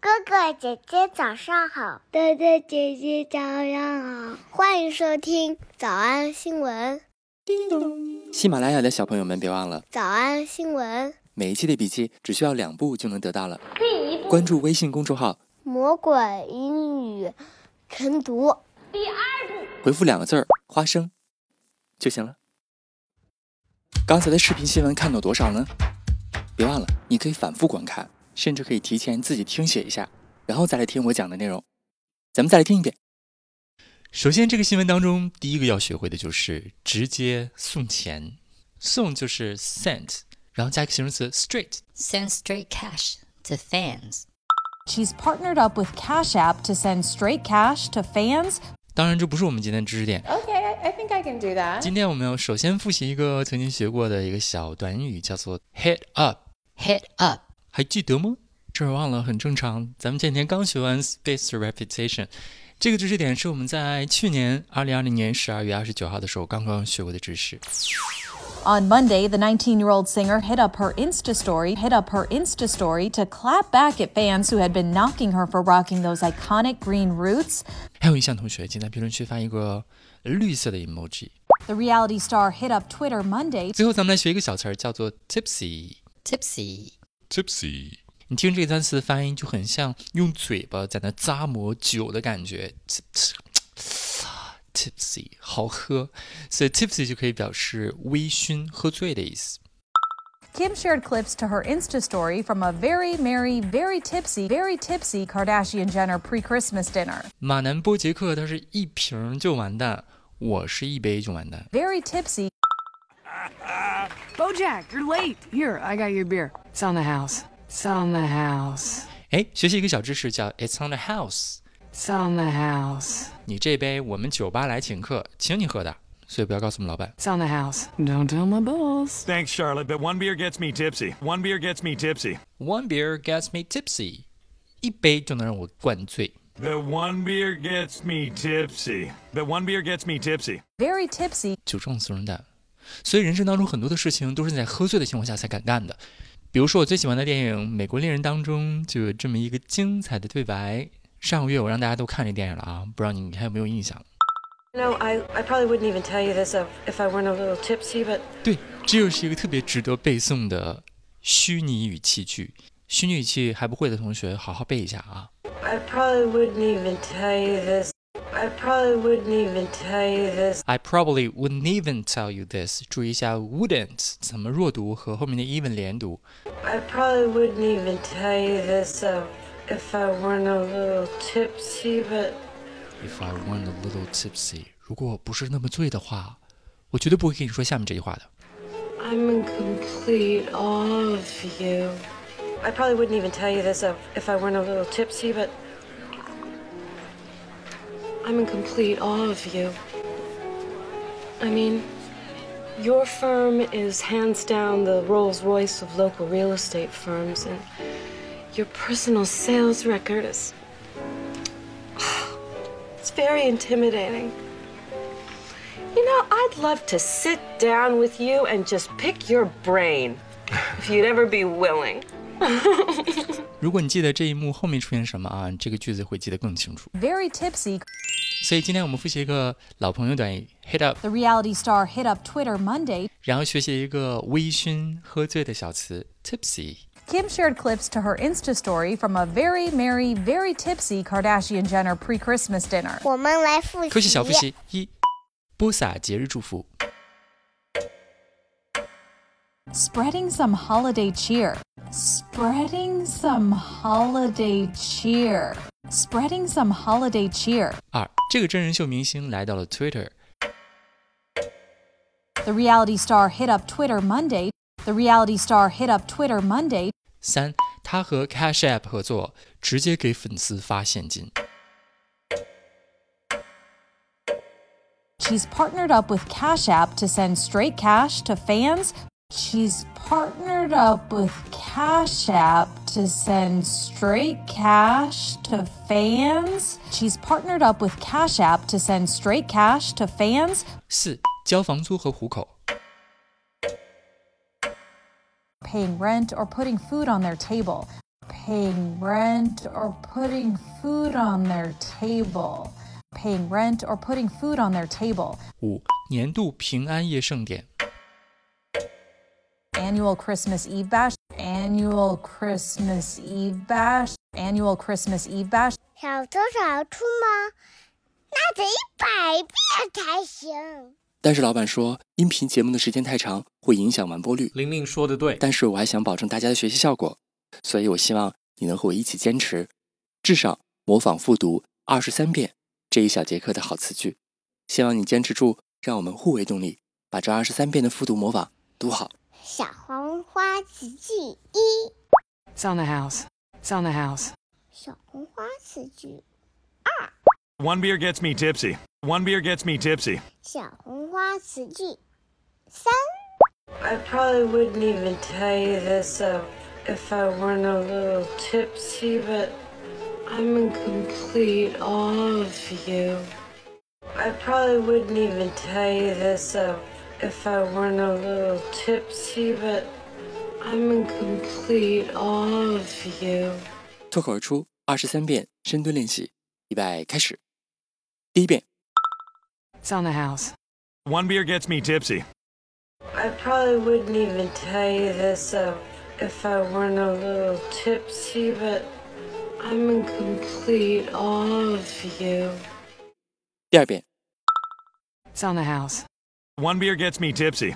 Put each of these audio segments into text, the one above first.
哥哥姐姐早上好， 哥哥姐姐早上好， 欢迎收听早安新闻。 叮咚！喜马拉雅的小朋友们别忘了早安新闻， 每一期的笔记只需要2步就能得到了。第1步，关注微信公众号魔鬼英语晨读。 第2步， 回复2个字花生就行了。刚才的视频新闻看到多少呢？别忘了你可以反复观看，甚至可以提前自己听写一下，然后再来听我讲的内容。咱们再来听一遍。首先这个新闻当中第一个要学会的就是直接送钱，送就是 send， 然后加一个形容词 straight， Send straight cash to fans. She's partnered up with Cash App to send straight cash to fans. 当然这不是我们今天的知识点。 Okay, I think I can do that. 今天我们要首先复习一个曾经学过的一个小短语，叫做 hit up。 Hit up. 还记得吗？这儿忘了很正常，咱们前天刚学完 spaced repetition， 这个知识点是我们在去年2020年12月29号的时候刚刚学过的知识。 On Monday, the 19-year-old singer hit up her Insta story to clap back at fans who had been knocking her for rocking those iconic green roots. 还有印象同学请在评论区发一个绿色的 emoji。 The reality star hit up Twitter Monday. 最后咱们来学一个小词儿，叫做 tipsy。 Tipsy. 你听这个单词的发音就很像用嘴巴在那咂摸酒的感觉， tipsy 好喝，所以 tipsy 就可以表示微醺喝醉的意思。 Kim shared clips to her Insta story from a very merry, very tipsy Kardashian-Jenner pre-Christmas dinner. 马南波杰克他是一瓶就完蛋，我是一杯就完蛋。 Very tipsy. Bojack, you're late. Here, I got your beer. It's on the house. It's on the house. 学习一个小知识叫 It's on the house。 It's on the house. 你这杯我们酒吧来请客，请你喝的，所以不要告诉我们老板。 It's on the house. Don't tell my boss. Thanks, Charlotte, but one beer gets me tipsy. One beer gets me tipsy. One beer gets me tipsy， 一杯就能让我灌醉。 The one beer gets me tipsy. The one beer gets me tipsy. Very tipsy. 酒壮怂人胆，所以人生当中很多的事情都是在喝醉的情况下才敢干的。比如说我最喜欢的电影《美国恋人》当中就有这么一个精彩的对白，上个月我让大家都看这电影了啊，不知道你还有没有印象。 No, I probably wouldn't even tell you this if I weren't a little tipsy, but... 对，这又是一个特别值得背诵的虚拟语气句。虚拟语气还不会的同学好好背一下啊。 I probably wouldn't even tell you this. I probably wouldn't even tell you this. I probably wouldn't even tell you this。 注意一下 wouldn't 怎么弱读和后面的 even 连读。 I probably wouldn't even tell you this if I weren't a little tipsy, but... If I weren't a little tipsy， 如果我不是那么醉的话，我绝对不会跟你说下面这句话的。 I'm in complete awe of you. I probably wouldn't even tell you this if I weren't a little tipsy, but... I'm in complete awe of you. I mean, your firm is hands down the Rolls-Royce of local real estate firms, and your personal sales record is... It's very intimidating. You know, I'd love to sit down with you and just pick your brain, if you'd ever be willing. 如果你记得这一幕后面出现什么啊，这个句子会记得更清楚。 Very tipsy. 所以今天我们复习一个老朋友短语 hit up， The reality star hit up Twitter Monday. 然后学习一个微醺喝醉的小词 tipsy。 Kim shared clips to her Insta story from a very merry, very tipsy Kardashian-Jenner pre-Christmas dinner. 我们来复习。 科学小复习1，播撒节日祝福。 Spreading some holiday cheer. Spreading some holiday cheer. Spreading some holiday cheer. 2，这个真人秀明星来到了 Twitter。 The reality star hit up Twitter Monday. The reality star hit up Twitter Monday. 3，他和 Cash App 合作，直接给粉丝发现金。 She's partnered up with Cash App to send straight cash to fans. She's partnered up with Cash App to send straight cash to fans. She's partnered up with Cash App to send straight cash to fans. 4，交房租和糊口。 Paying rent or putting food on their table. paying rent or putting food on their table. Paying rent or putting food on their table. 5. 年度平安夜盛典 Annual Christmas Eve bash. Annual Christmas Eve bash. Annual Christmas Eve bash. 小偷小兔吗？那得100遍才行。 但是老板说音频节目的时间太长会影响完播率。 玲玲说的对， 但是我还想保证大家的学习效果，所以我希望你能和我一起坚持，至少模仿复读23遍这一小节课的好词句。希望你坚持住，让我们互为动力，把这23遍的复读模仿读好。 小红花词句1。 It's on the house. It's on the house. 小红花词句 One beer gets me tipsy. One beer gets me tipsy. 小红花词句3。 I probably wouldn't even tell you this if I weren't a little tipsy, but I'm in complete awe of you. I probably wouldn't even tell you this if I weren't a little tipsy, but I'm in complete awe of you. 脱口而出23遍深蹲练习，预备开始。第一遍 It's on the house. One beer gets me tipsy. I probably wouldn't even tell you this if I weren't a little tipsy, but I'm in complete awe of you. 第二遍 It's on the house. One beer gets me tipsy.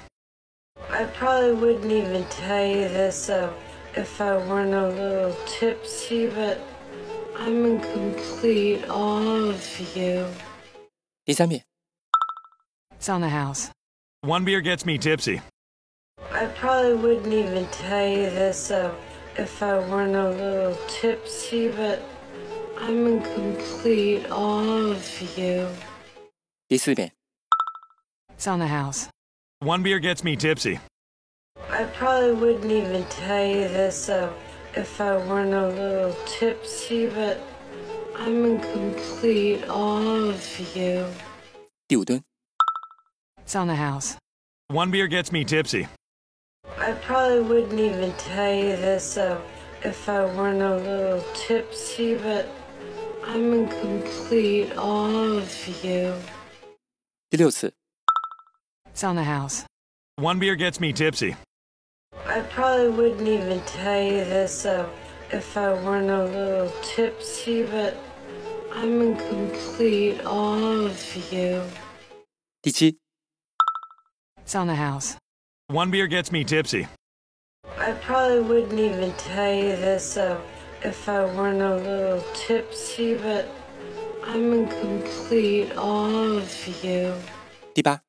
I probably wouldn't even tell you this if I weren't a little tipsy, but I'm in complete awe of you. 第三遍 It's on the house. One beer gets me tipsy. I probably wouldn't even tell you this if I weren't a little tipsy, but I'm in complete awe of you. 第四遍 It's on the house. One beer gets me tipsy. I probably wouldn't even tell you this if I weren't a little tipsy, but I'm in complete awe of you. 第五蹲 It's on the house. One beer gets me tipsy. I probably wouldn't even tell you this if I weren't a little tipsy, but I'm in complete awe of you. 第六次 It's on the house. One beer gets me tipsy. I probably wouldn't even tell you this if I weren't a little tipsy, but I'm in complete awe of you. 第七 It's on the house. One beer gets me tipsy. I probably wouldn't even tell you this if I weren't a little tipsy, but I'm in complete awe of you. 第八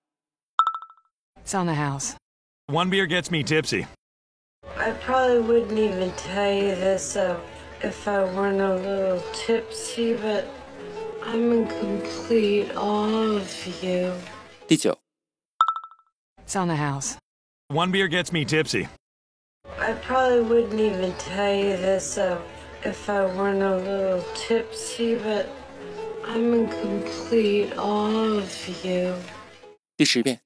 It's on the house. One beer gets me tipsy. I probably wouldn't even tell you this if I weren't a little tipsy, but I'm in complete awe of you. 第九 It's on the house. One beer gets me tipsy. I probably wouldn't even tell you this if I weren't a little tipsy, but I'm in complete awe of you. 第10遍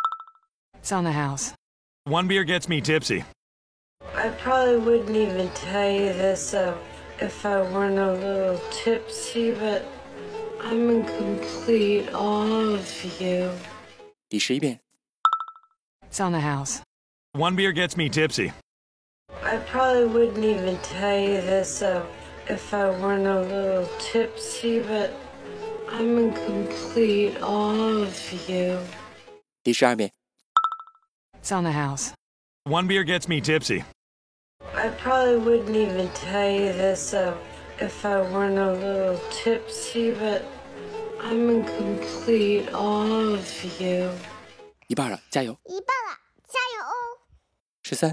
It's on the house. One beer gets me tipsy. I probably wouldn't even tell you this if I weren't a little tipsy, but I'm in complete awe of you. 第11遍 It's on the house. One beer gets me tipsy. I probably wouldn't even tell you this if I weren't a little tipsy, but I'm in complete awe of you. 第12遍 It's on the house. One beer gets me tipsy. I probably wouldn't even tell you this if I weren't a little tipsy, but I'm in complete awe of you. 一半了，加油！ 一半了，加油哦 13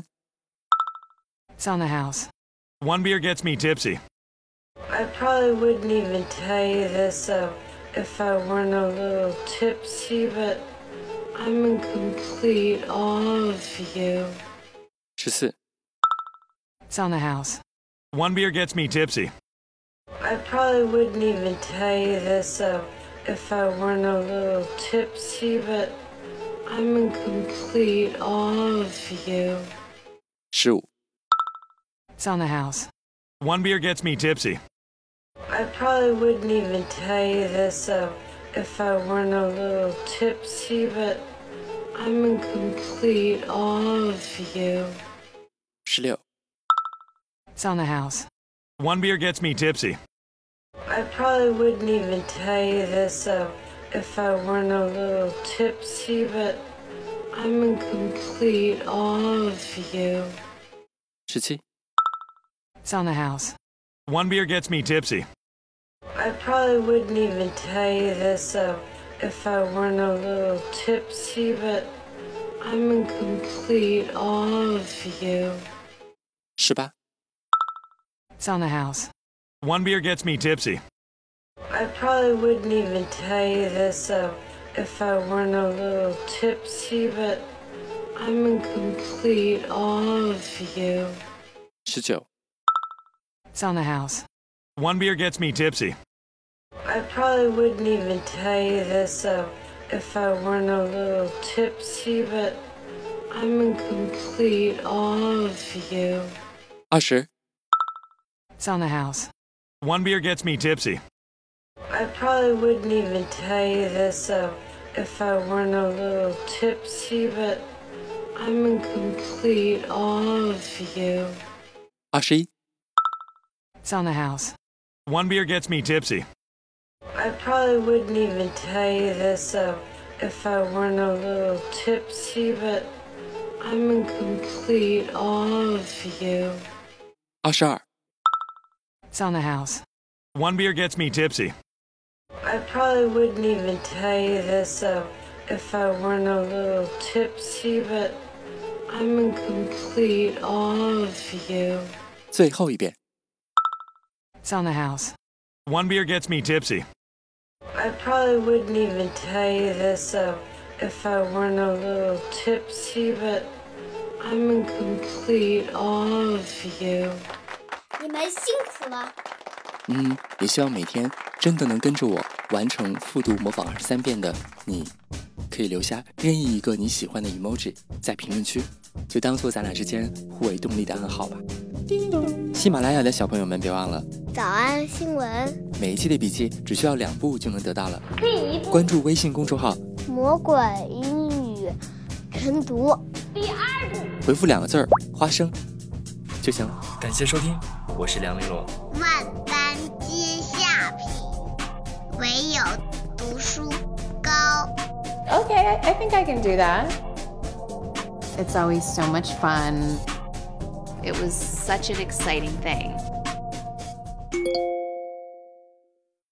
It's on the house. One beer gets me tipsy. I probably wouldn't even tell you this if I weren't a little tipsy, but I'm in complete awe of you. 14 It's on the house. One beer gets me tipsy. I probably wouldn't even tell you this if I weren't a little tipsy, but I'm in complete awe of you. 15 It's on the house. One beer gets me tipsy. I probably wouldn't even tell you this if I weren't a little tipsy, but I'm in complete awe of you. 16. It's on the house. One beer gets me tipsy. I probably wouldn't even tell you this if I weren't a little tipsy, but I'm in complete awe of you. 17. It's on the house. One beer gets me tipsy. I probably wouldn't even tell you this if I weren't a little tipsy, but I'm in complete awe of you. 18. It's on the house. One beer gets me tipsy. I probably wouldn't even tell you this if I weren't a little tipsy, but I'm in complete awe of you. 19. It's on the house. One beer gets me tipsy. I probably wouldn't even tell you this if I weren't a little tipsy, but I'm in complete awe of you. 20. It's on the house. One beer gets me tipsy. I probably wouldn't even tell you this if I weren't a little tipsy, but I'm in complete awe of you. 21. It's on the house. One beer gets me tipsy. I probably wouldn't even tell you this if I weren't a little tipsy, but I'm in complete awe of you. 22. It's on the house. One beer gets me tipsy. I probably wouldn't even tell you this if I weren't a little tipsy, but I'm in complete awe of you. 最后一遍。 It's on the house. One beer gets me tipsy. I probably wouldn't even tell you this if I weren't a little tipsy, but I'm in complete awe of you. 你们辛苦了。 也希望每天真的能跟着我完成复读模仿23遍的你，可以留下任意一个你喜欢的 emoji 在评论区，就当做咱俩之间互为动力的暗号吧。喜马拉雅的小朋友们别忘了， 早安新闻， 每一期的笔记只需要2步就能得到了。关注微信公众号魔鬼英语晨读， 回复2个字花生就行了。感谢收听，我是梁玲珑。 万般皆下品，唯有读书高。 Okay, I think I can do that. It's always so much fun. It was such an exciting thing.